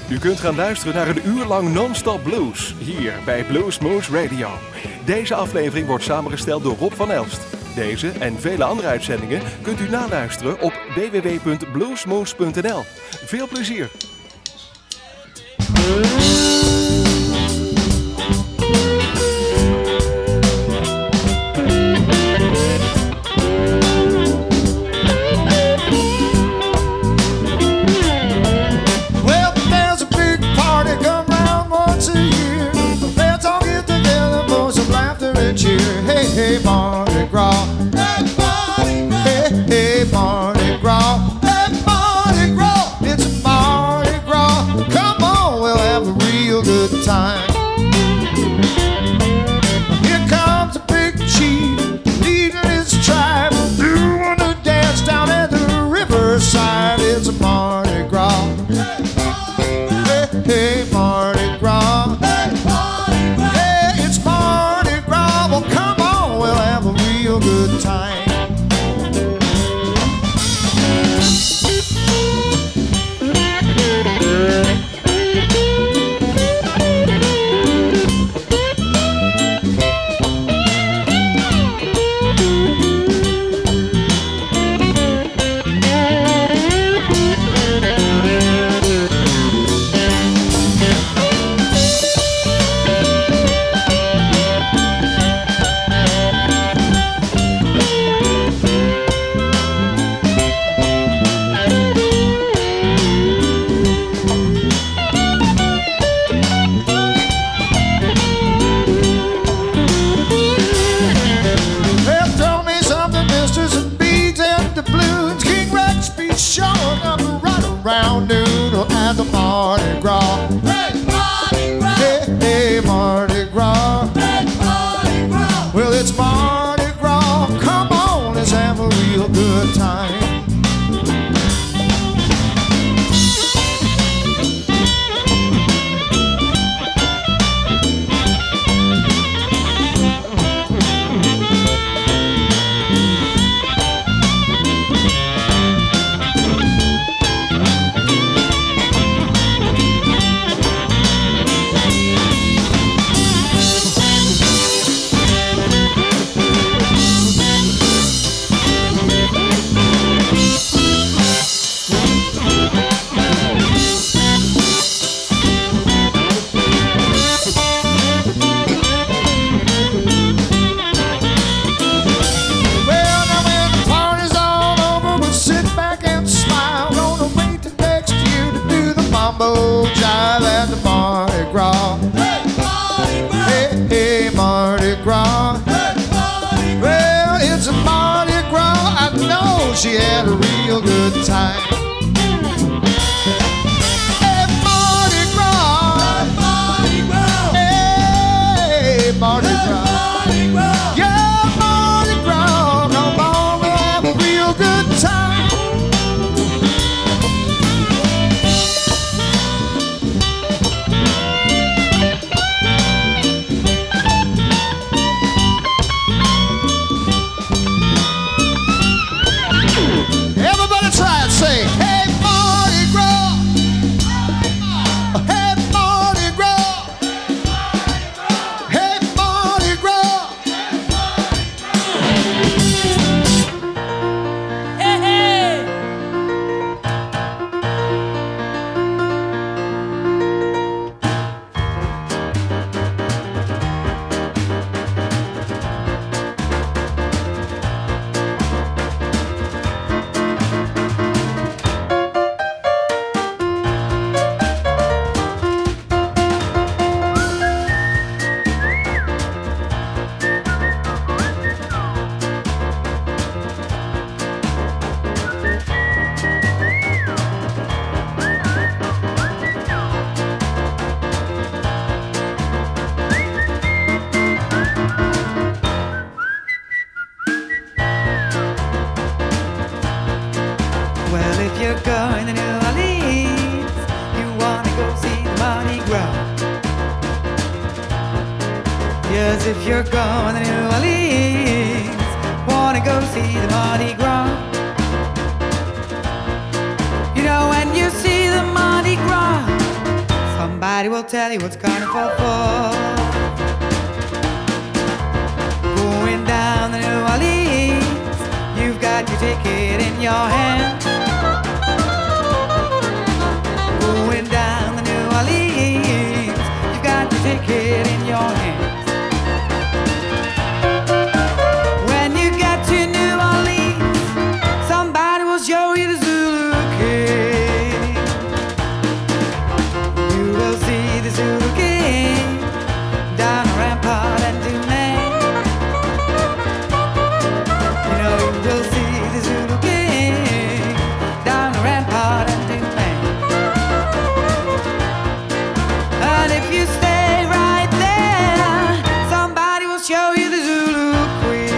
U kunt gaan luisteren naar een uur lang non-stop blues, hier bij Blues Moose Radio. Deze aflevering wordt samengesteld door Rob van Elst. Deze en vele andere uitzendingen kunt u naluisteren op www.bluesmoose.nl. Veel plezier! Hey, Mardi Gras. Hey, Mardi Gras. Hey, hey, Mardi Gras. Hey, Mardi Gras. It's a Mardi Gras. Come on, we'll have a real good time. Here comes a big chief leading his tribe, doing a dance down at the riverside. It's a Mardi Gras. Hey, Mardi Gras. Hey, hey, Mardi Gras. Hey, Mardi Gras. Hey, it's Mardi Gras. Well, come on, we'll have a real good time. Around noon at the Mardi Gras. Hey, Mardi Gras. Hey, hey, Mardi Gras. Hey, Mardi Gras. Well, it's Mardi Gras. Come on, let's have a real good time. Jive at the Mardi Gras. Hey, Mardi Gras. Hey, hey, Mardi Gras. Hey, Mardi Gras. Well, it's a Mardi Gras. I know she had a real good time. Hey, Mardi Gras. Hey, Mardi Gras. Hey, Mardi Gras. Mardi Gras. Yeah, Mardi Gras. Come on, we'll have a real good time. Say, hey, Mardi Gras. Hey, Mardi Gras. Hey, Mardi Gras. Hey, hey. you're going to New Orleans, you wanna go see the Mardi Gras. Yes, if you're going to New Orleans, wanna go see the Mardi Gras. You know, when you see the Mardi Gras, Somebody will tell you what's carnival for. Going down to New Orleans, you've got your ticket in your hand. Going down to New Orleans, you've got your ticket in your hand. When you get to New Orleans, somebody will show you the Zulu King. You will see the Zulu King down the Rampart and Dumaine. You know you will see the Zulu King down the Rampart and Dumaine. And if you stay right there, somebody will show you the Zulu Queen.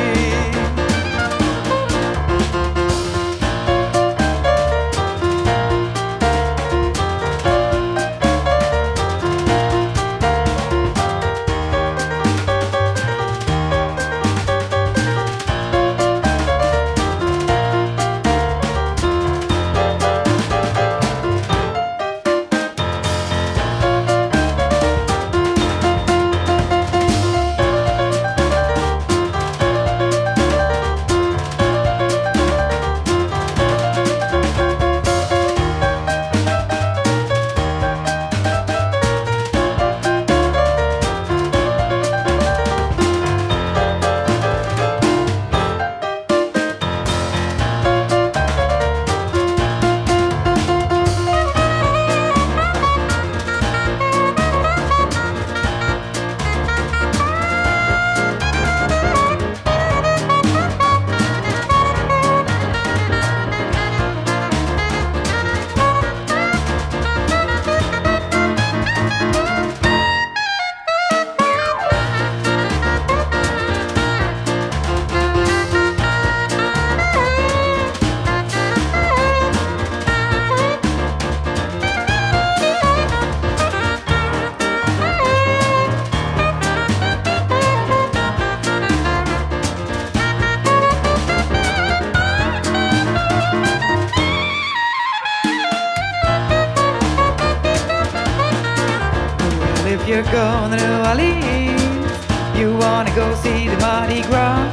If you're going to New Orleans, you wanna go see the Mardi Gras.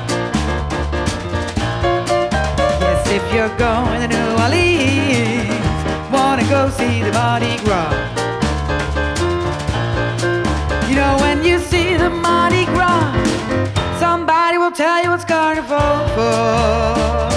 Yes, if you're going to New Orleans, wanna go see the Mardi Gras. You know when you see the Mardi Gras, somebody will tell you what's carnival for.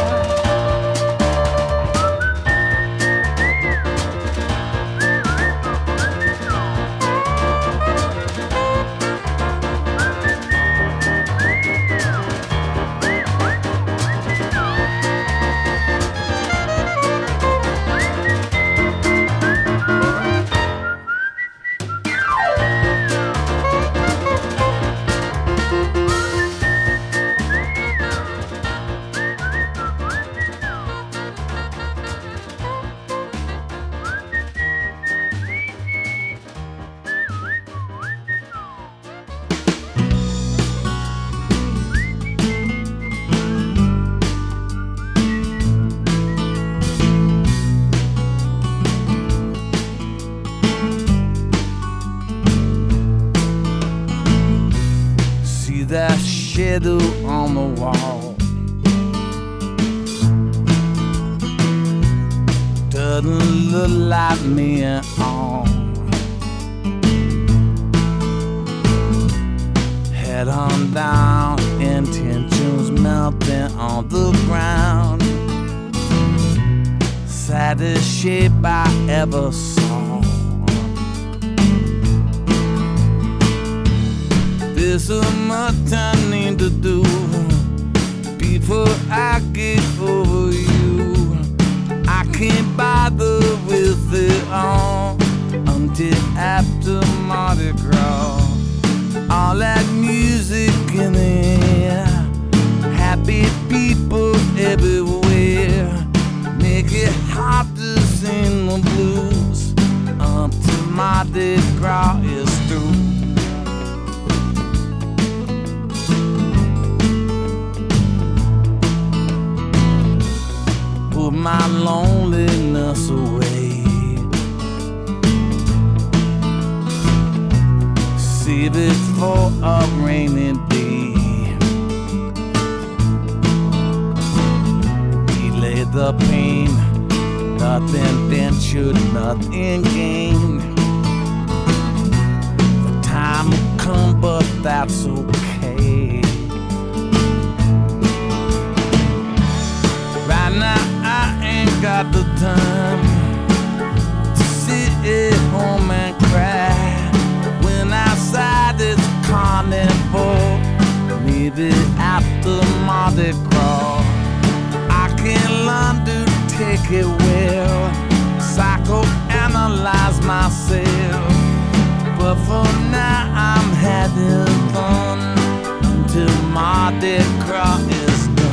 That shadow on the wall doesn't look like me at all. Head on down, intentions melting on the ground. Saddest shape I ever saw. There's so much I need to do before I get over you. I can't bother with it all until after Mardi Gras. All that music in the air, happy people everywhere, make it hard to sing the blues until Mardi Gras is through. Put my loneliness away. leave it for a rainy day. Delay the pain, nothing ventured, nothing gained. The time will come, but that's okay. Right now I ain't got the time to sit at home and cry when outside it's carnival. Maybe after Mardi Gras I can learn to take it well, psychoanalyze myself. But for now I'm having fun until Mardi Gras is done.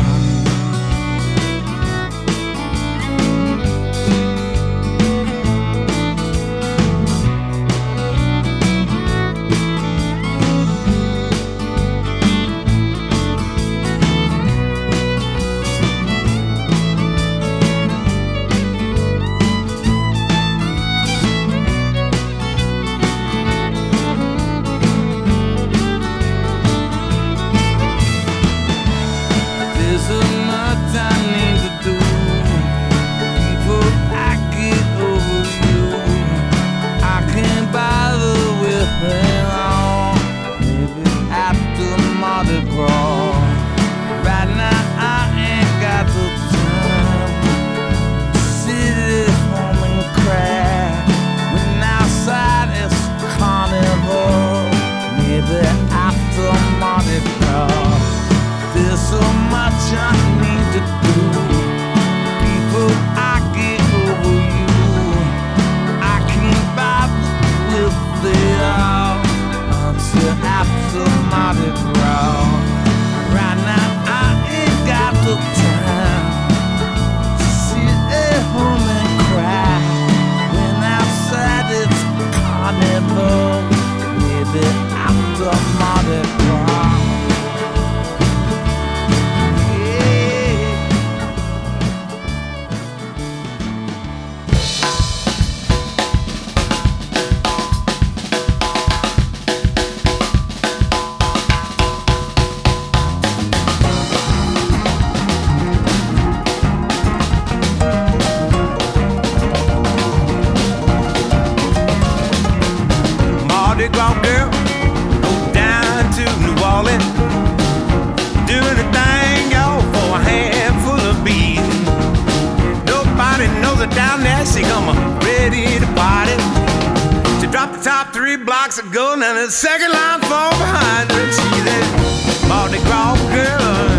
Ago, now the second line fall behind her. She's that Mardi Gras girl,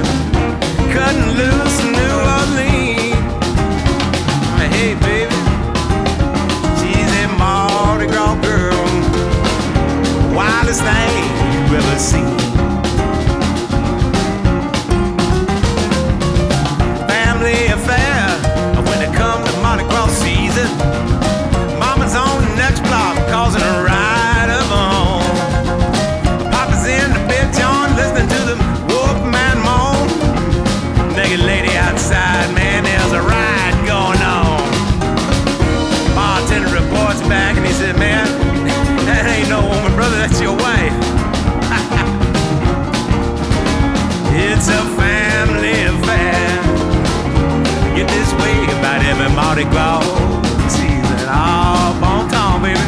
cutting loose in New Orleans. Hey baby, she's that Mardi Gras girl, wildest thing you ever seen. Family affair when it comes to Mardi Gras season. Mama's on the next block causing a ride. Listening to the Wolfman moan. Naked lady outside, man, there's a ride going on. Bartender reports back and he said, man, that ain't no woman, brother, that's your wife. It's a family affair. Get this way about every Mardi Gras season. Oh, bon temps, baby.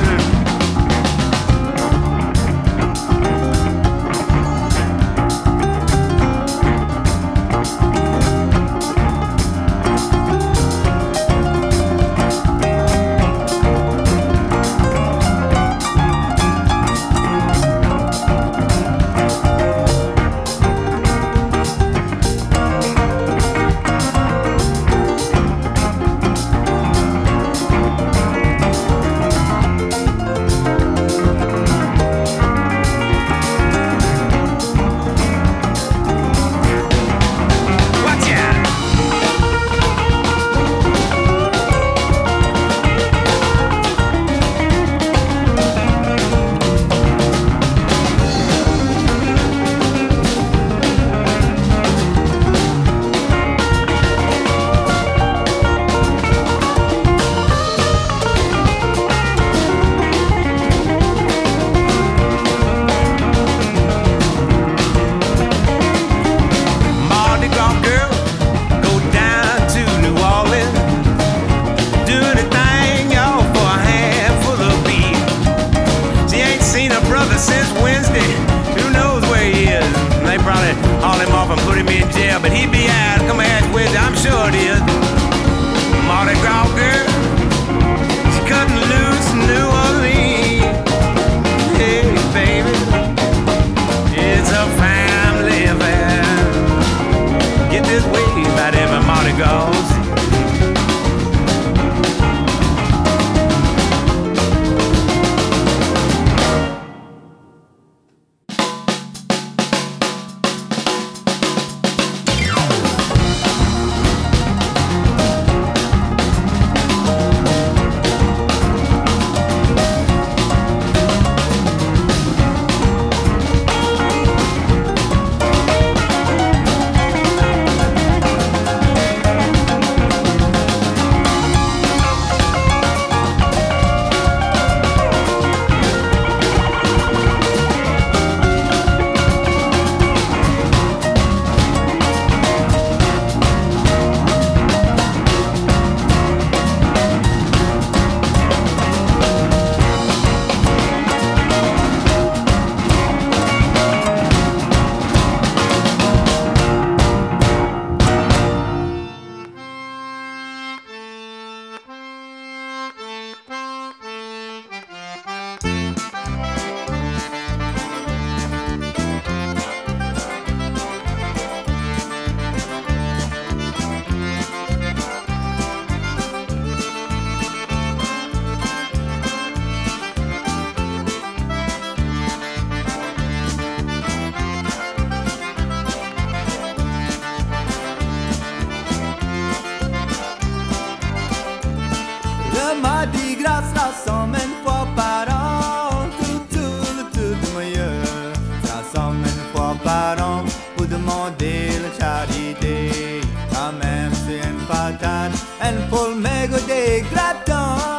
Le Mardi Gras rassemble une fois par an. Tout meilleur rassemble une fois par an pour demander la charité. Quand même c'est une patate, une poule méga des gratins.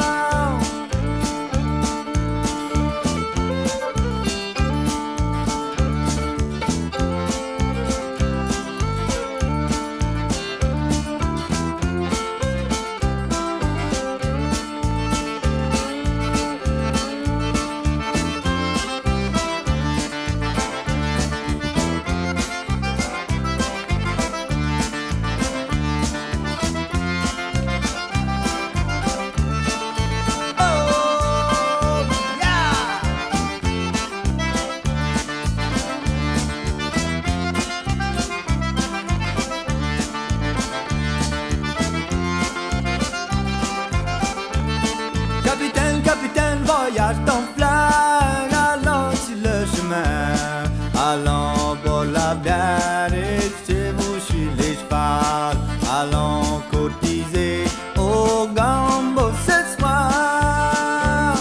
Capitaine, voyage ton flag, allons sur le chemin, allons pour la bière et chez vous sur les chevals, allons cotiser au gambo ce soir.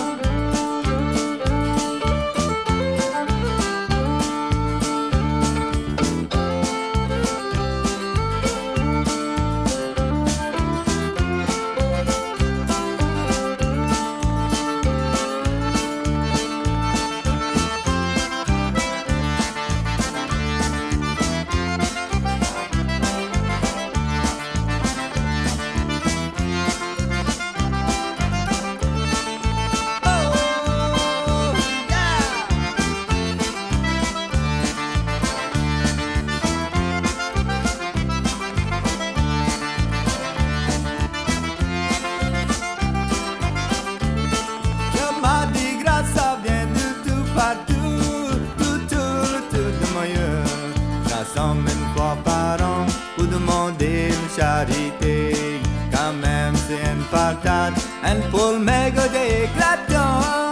Une fois par an pour demander une charité. Quand même c'est une patate, une poule méga des gratins.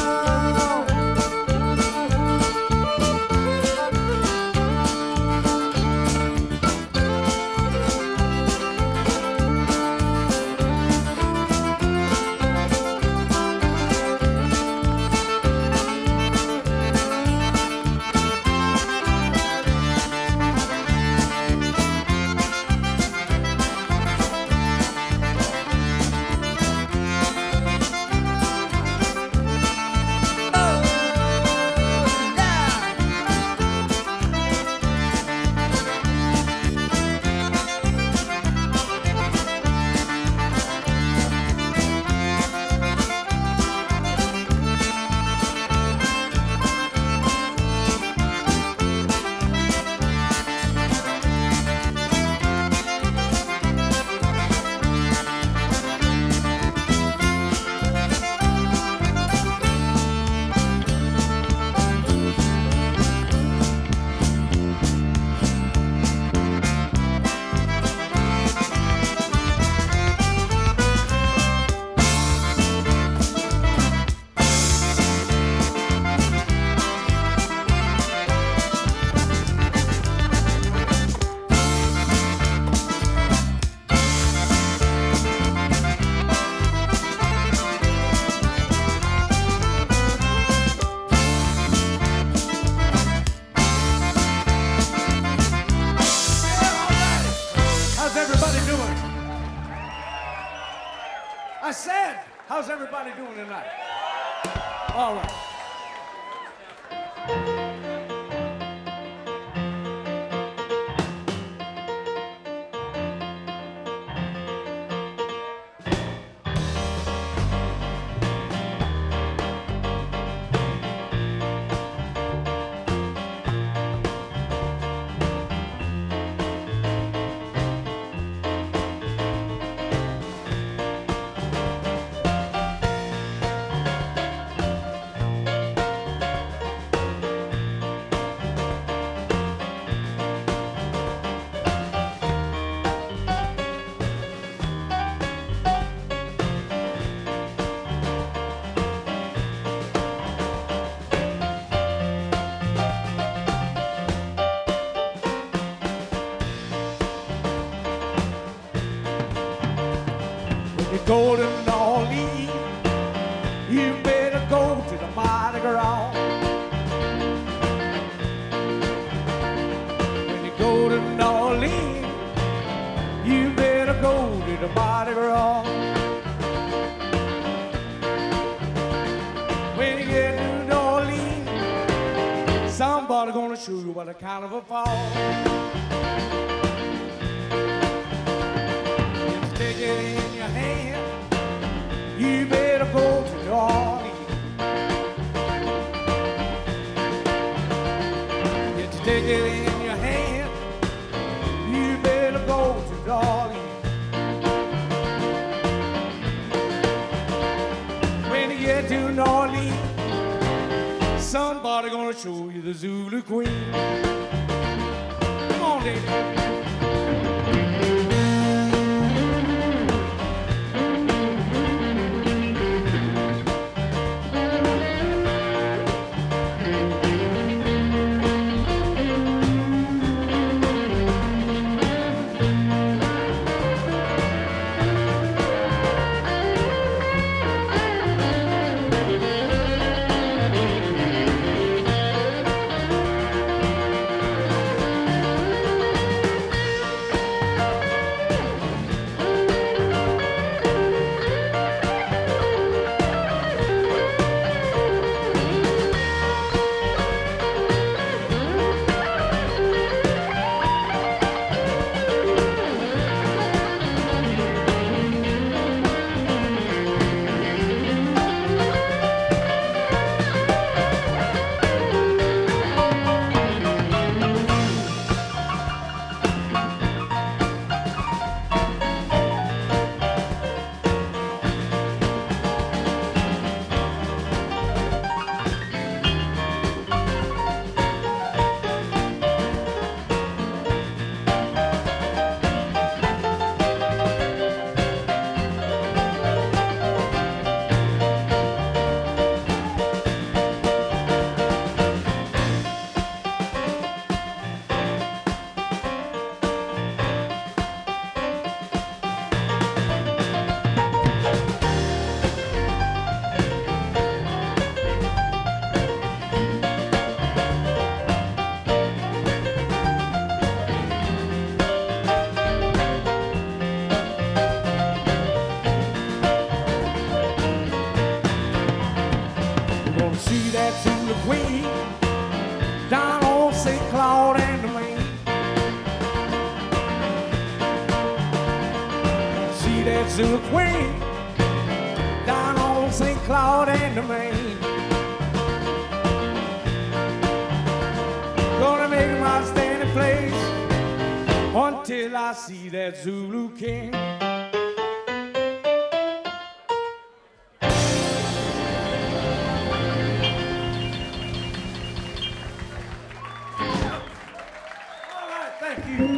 I said, how's everybody doing tonight? All right. Golden dawn with the Mardi Gras. When you get to New Orleans, somebody gonna show you what a carnival falls. Take it in your hand, you better go to New Orleans. Get to take it in your hand, you better go to New Orleans. When you get to New Orleans, somebody gonna show you the Zulu Queen. Come on, David. Zulu Queen down on St. Cloud and the Main. Gonna make my standing place until I see that Zulu King. All right, thank you.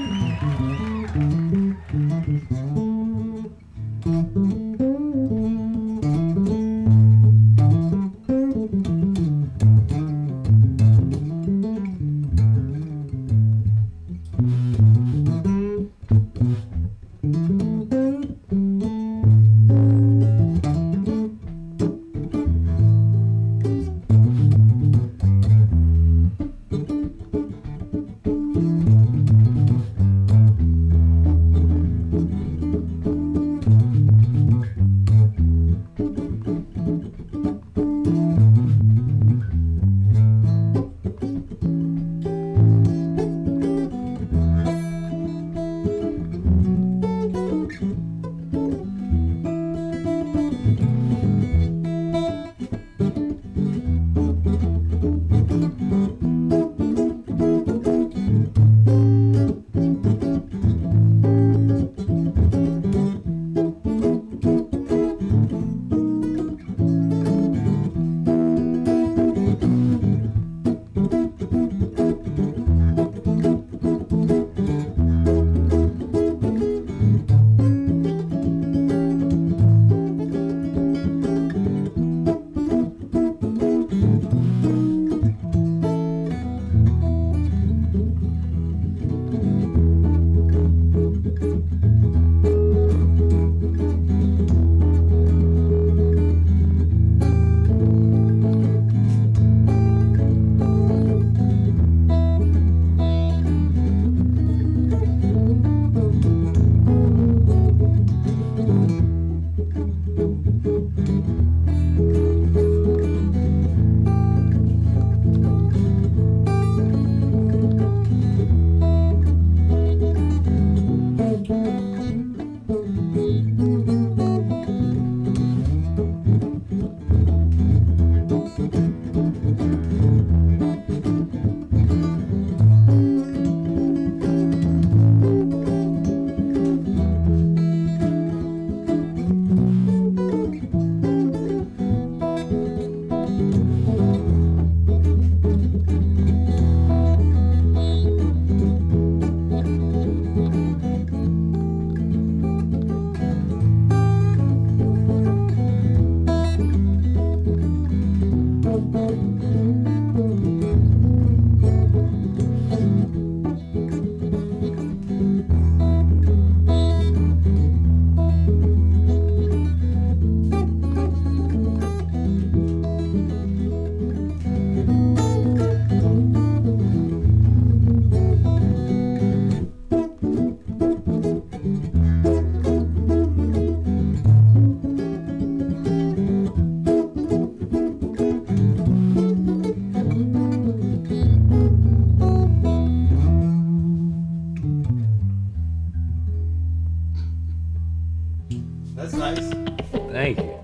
That's nice. Thank you.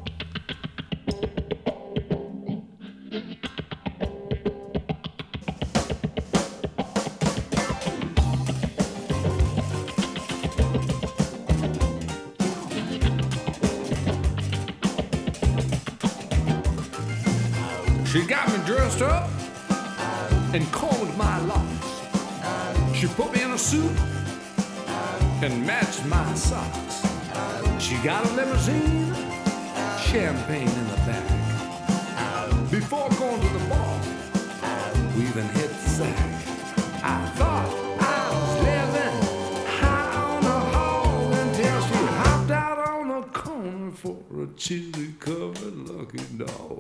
She got me dressed up and combed my locks. She put me in a suit and matched my socks. She got a limousine, champagne in the back. Before going to the bar, we even hit the sack. I thought I was living high on the hog until she hopped out on the corner for a chili-covered lucky dog.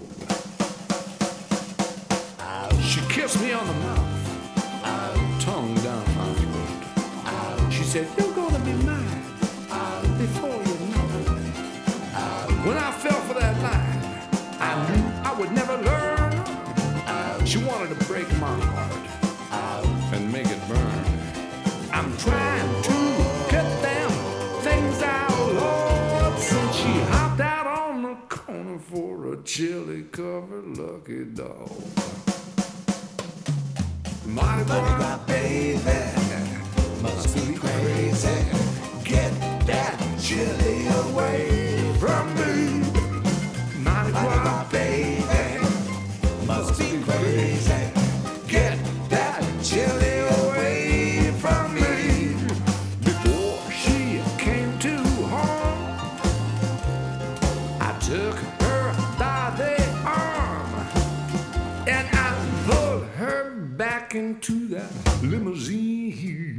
She kissed me on the mouth, tongue down my throat. She said, "You're gonna be mine before you know it." When I fell for that line, I knew I would never learn. She wanted to break my heart and make it burn. I'm trying to get them things out, Lord, since she hopped out on the corner for a chili-covered lucky dog. Mardi Gras, baby, must be crazy. Get that chili away from me. Mardi Gras, baby, must be crazy. Get that chili away from me. Before she came to home, I took her by the arm and I pulled her back into that limousine.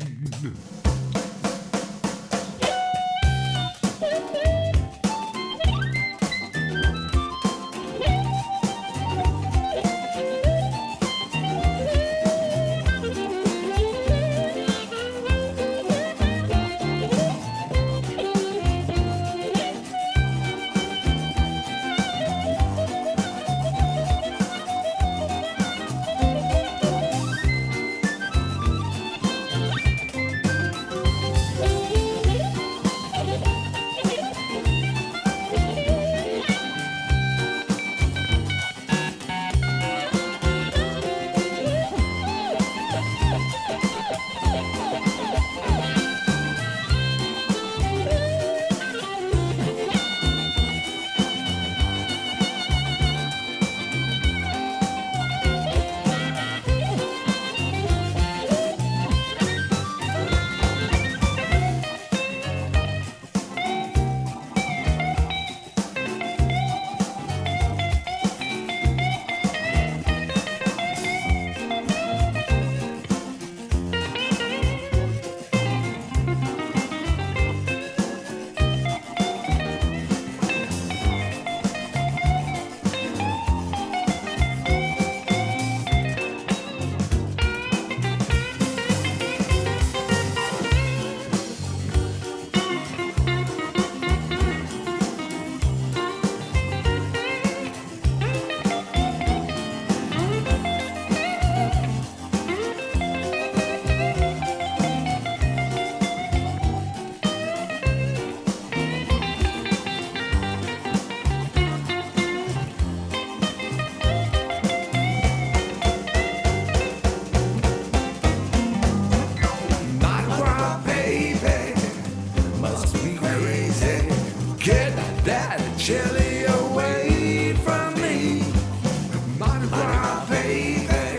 Chili away from me. Mardi Gras, baby,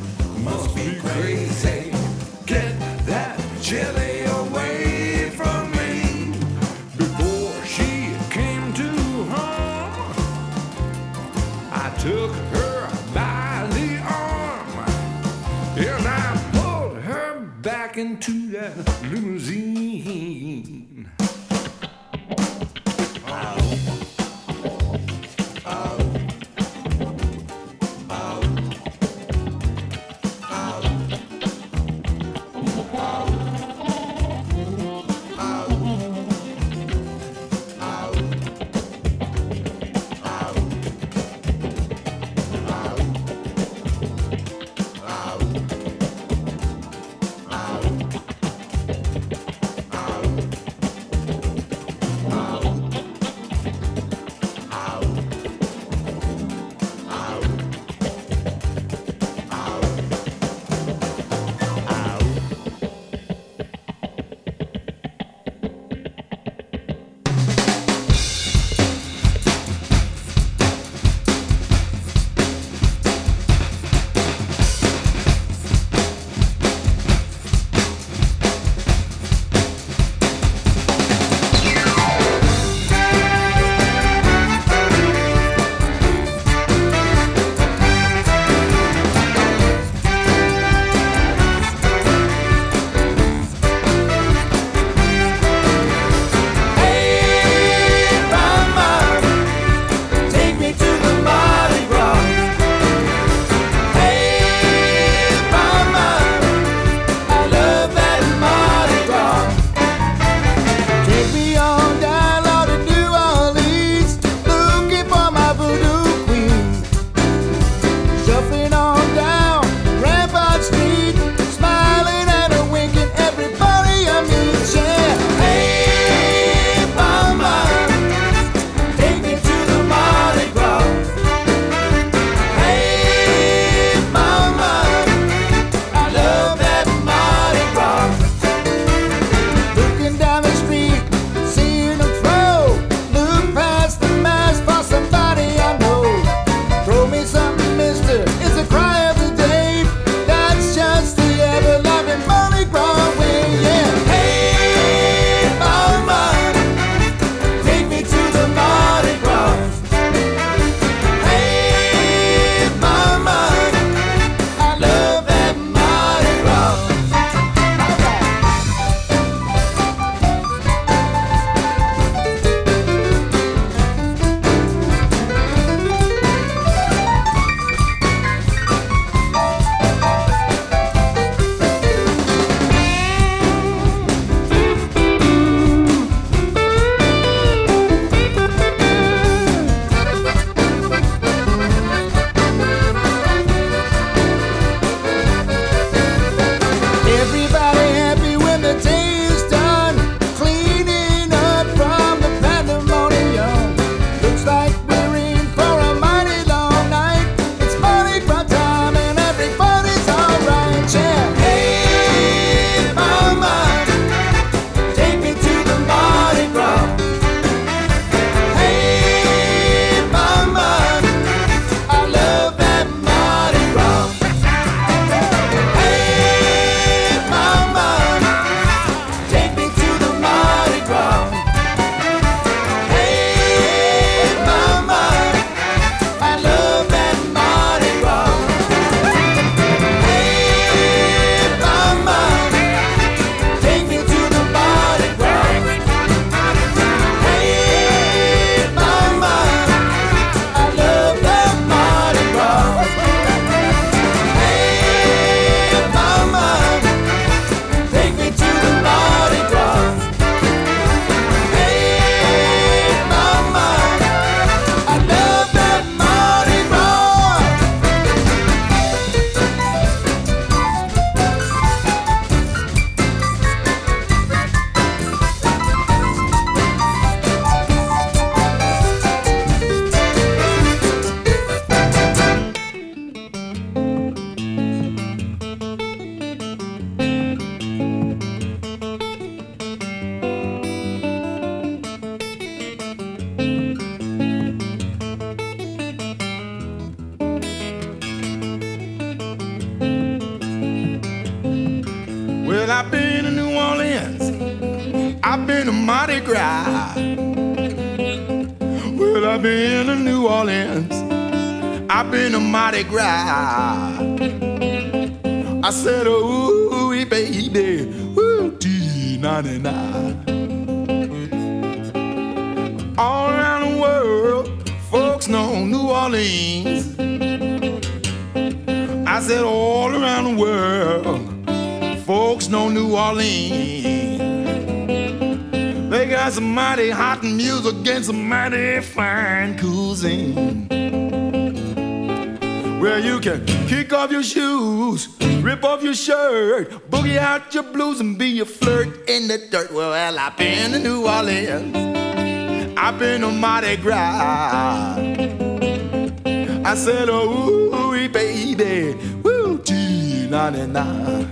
must be crazy. Get that chili away from me. Before she came to home, I took her by the arm and I pulled her back into that limousine. I've been to New Orleans, I've been to Mardi Gras. Well, I've been to New Orleans, I've been to Mardi Gras. I said, ooh, baby, ooh, T-99. All around the world, folks know New Orleans. I said, all around the world, folks know New Orleans. They got some mighty hot music and some mighty fine cuisine. Where you can kick off your shoes, rip off your shirt, boogie out your blues and be a flirt in the dirt. Well, I've been to New Orleans, I've been to Mardi Gras. I said, oh, baby, woo, T-99.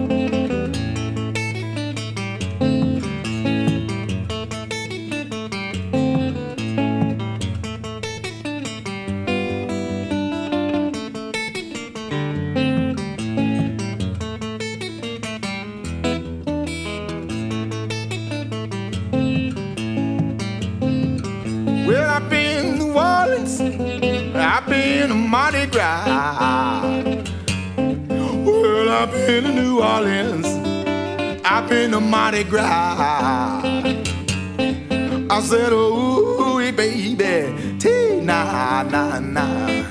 Well, I've been to New Orleans, I've been to Mardi Gras. Well, I've been to New Orleans, I've been to Mardi Gras. I said, oh, baby, T-na-na-na.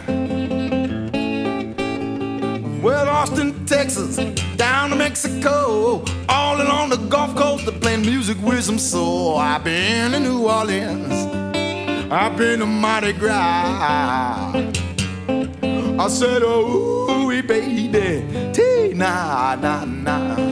Well, Austin, Texas, down to Mexico, all along the Gulf Coast, they're playing music with some soul. I've been to New Orleans, I've been to Mardi Gras. I said, oh, baby, T-na-na-na.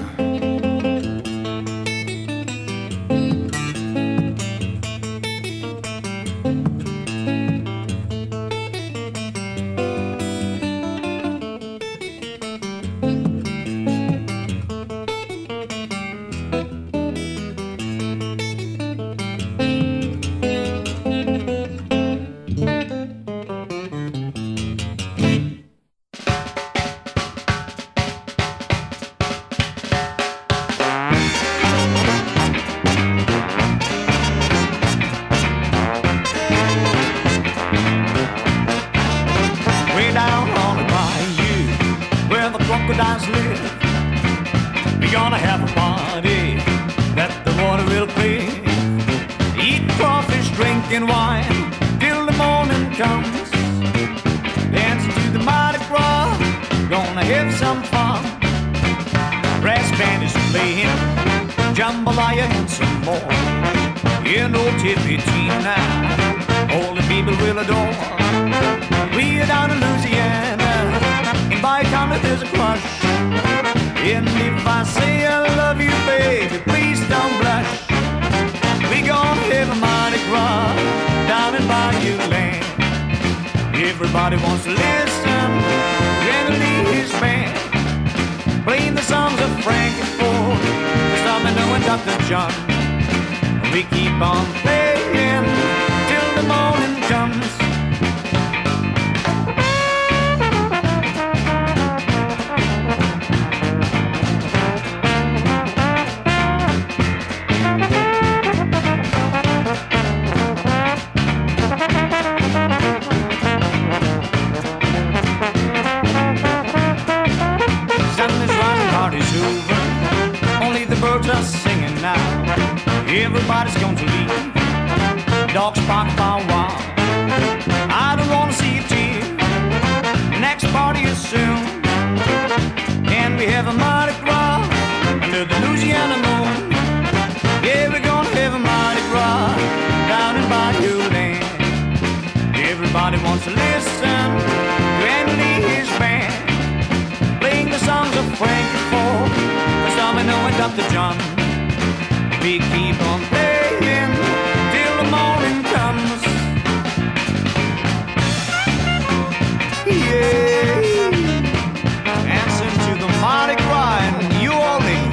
Way down on the bayou, where the crocodiles live, we're gonna have a party that the water will clear. Eat crawfish, drinking wine, till the morning comes. Dancing to the Mardi Gras, gonna have some fun. Brass band is playing, jambalaya and some more. You know Tippy Tina, all the people will adore. We're down in Louisiana, in Baton there's a crush. And if I say I love you, baby, please don't blush. We gonna have a Mardi Gras down in Bayou Land. Everybody wants to listen, Randy his band, playing the songs of Frankie Ford, Domino and Dr. John. We keep on playing till the morning comes. Just singing now. Everybody's going to leave. Dogs bark by while. I don't want to see a tear. Next party is soon, and we have a Mardi Gras under the Louisiana moon. Yeah, we're gonna have a Mardi Gras down in Bayou Land. Everybody wants to listen to Andy his band, playing the songs of Frankie Ford, Domino and Dr. John. We keep on playing till the morning comes. Yeah, dancing to the Mardi Gras in New Orleans.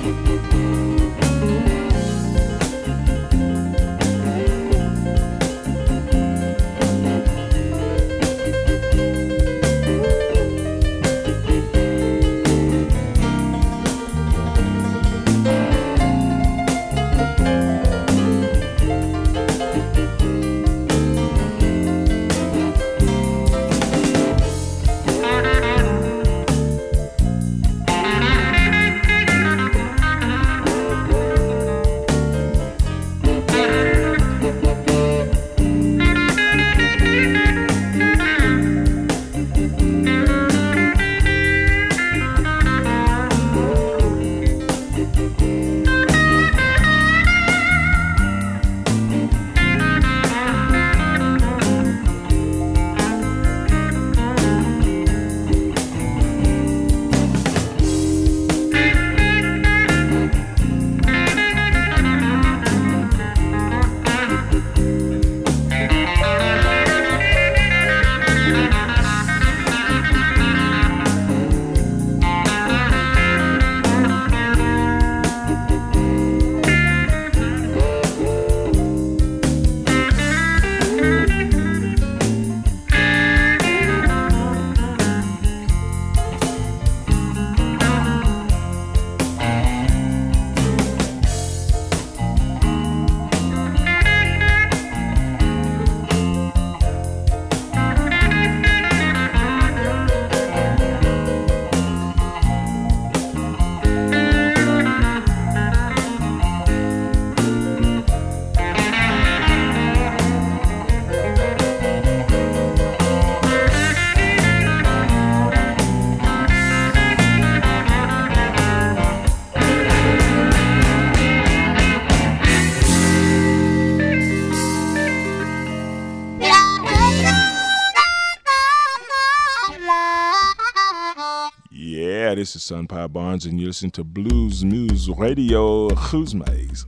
This is Sun Pie Barnes, and you listen to Blues Moose Radio. Who's Maze?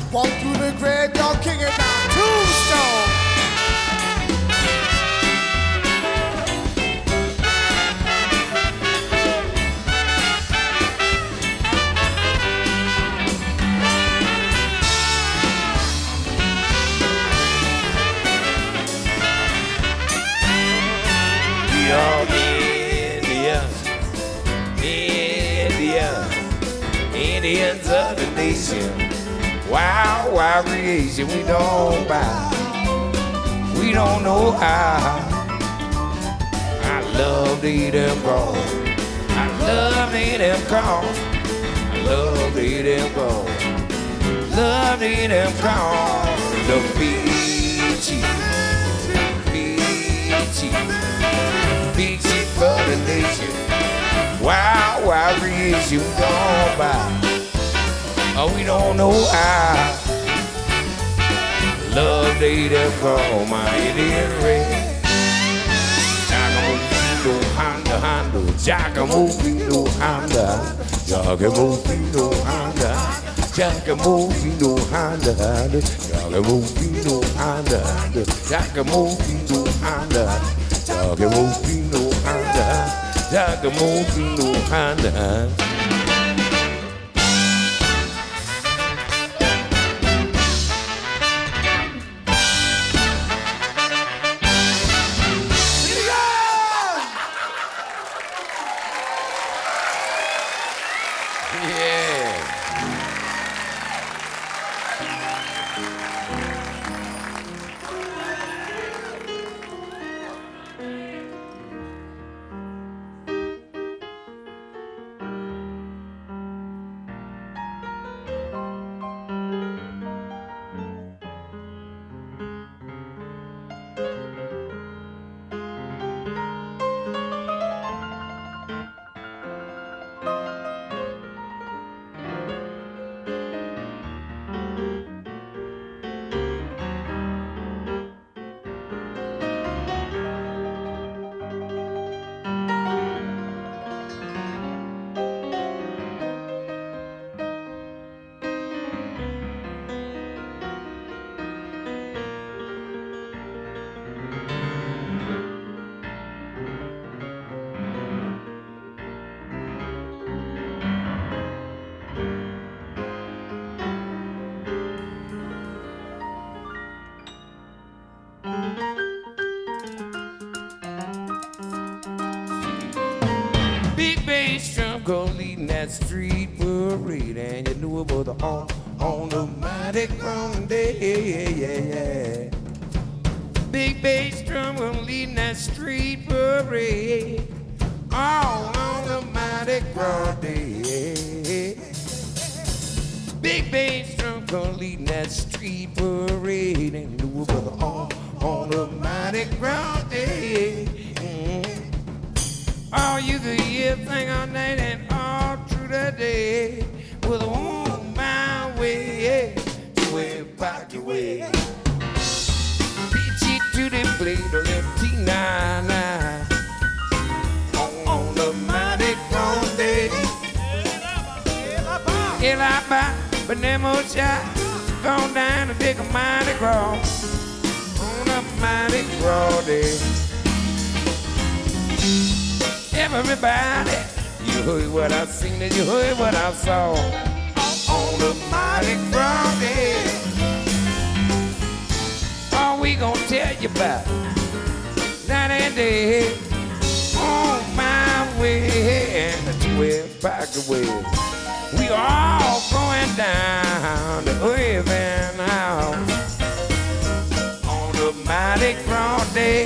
Walk through the graveyard, kicking down tombstones. We are Indians, Indians of the nation. Wild, wild creation, we don't bow. We don't know how. I love to eat them corn. I love to eat them corn. I love to eat them corn. Love to eat them corn. The peachy, peachy, peachy for the nation. Wild, wild creation, we don't bow. Oh, we don't know how. Love to eat them corn, my Indian red. Jackamoofino Honda Honda, Jackamoofino Honda, Jackamoofino Honda, Jackamoofino Honda, Jackamoofino Honda, Jackamoofino Honda, Jackamoofino Honda, Jackamoofino Honda. Big bass drum go leading that street parade, and you knew about the on the mighty ground day. Big bass drum go leading that street parade, all on the mighty ground day. Big bass drum go leading that street parade, and you knew about the on the mighty ground day. Oh, you could hear thing all night and all through the day with on my way, way back your way. Peachy to the blade of left T9 on the mighty ground day. El Abba, but them old shot gone down to dig a mighty ground on a mighty ground day. Everybody, you heard what I seen and you heard what I saw on the mighty ground day. All we gonna tell you about night and day on my way and 12 back away. We all going down to Irving House on the mighty ground day.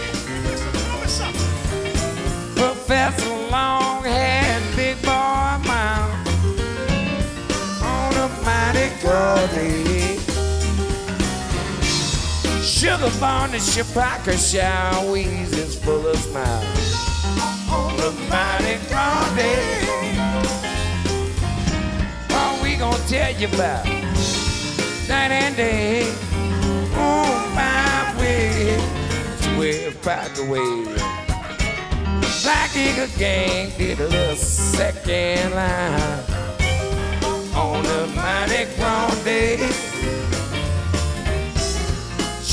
Professor Longhead, Big Boy Mount on a mighty ground day. Sugar Barney, Chewbacca, Showies is full of smiles on a mighty ground day. All we gonna tell you about night and day on my way to where back away. Black Eagle Gang did a little second line on the mighty ground day.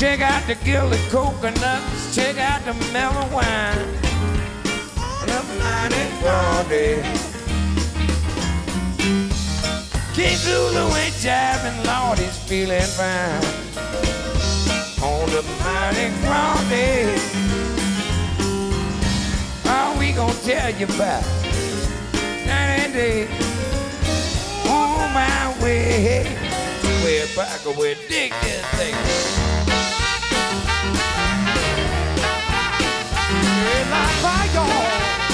Check out the gilded coconuts, check out the mellow wine, the mighty grande. King Zulu ain't jiving, Lord, he's feeling fine on the mighty grande. All we gonna tell you about 90 days on my way. Way back away, dig this thing. Like fire.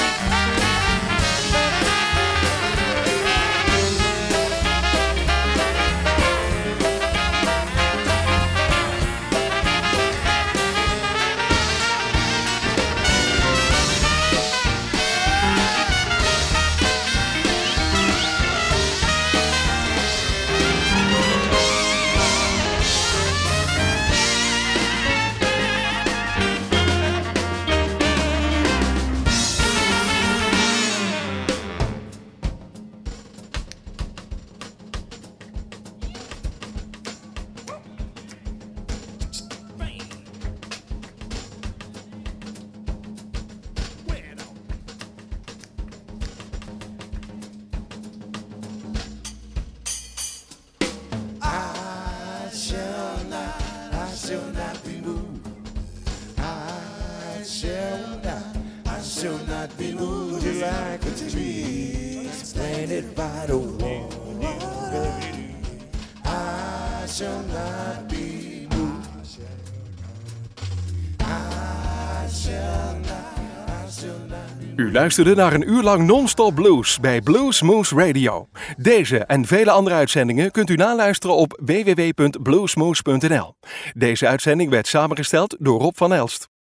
U luisterde naar een uur lang non-stop blues bij Blues Moose Radio. Deze en vele andere uitzendingen kunt u naluisteren op www.bluesmoose.nl. Deze uitzending werd samengesteld door Rob van Elst.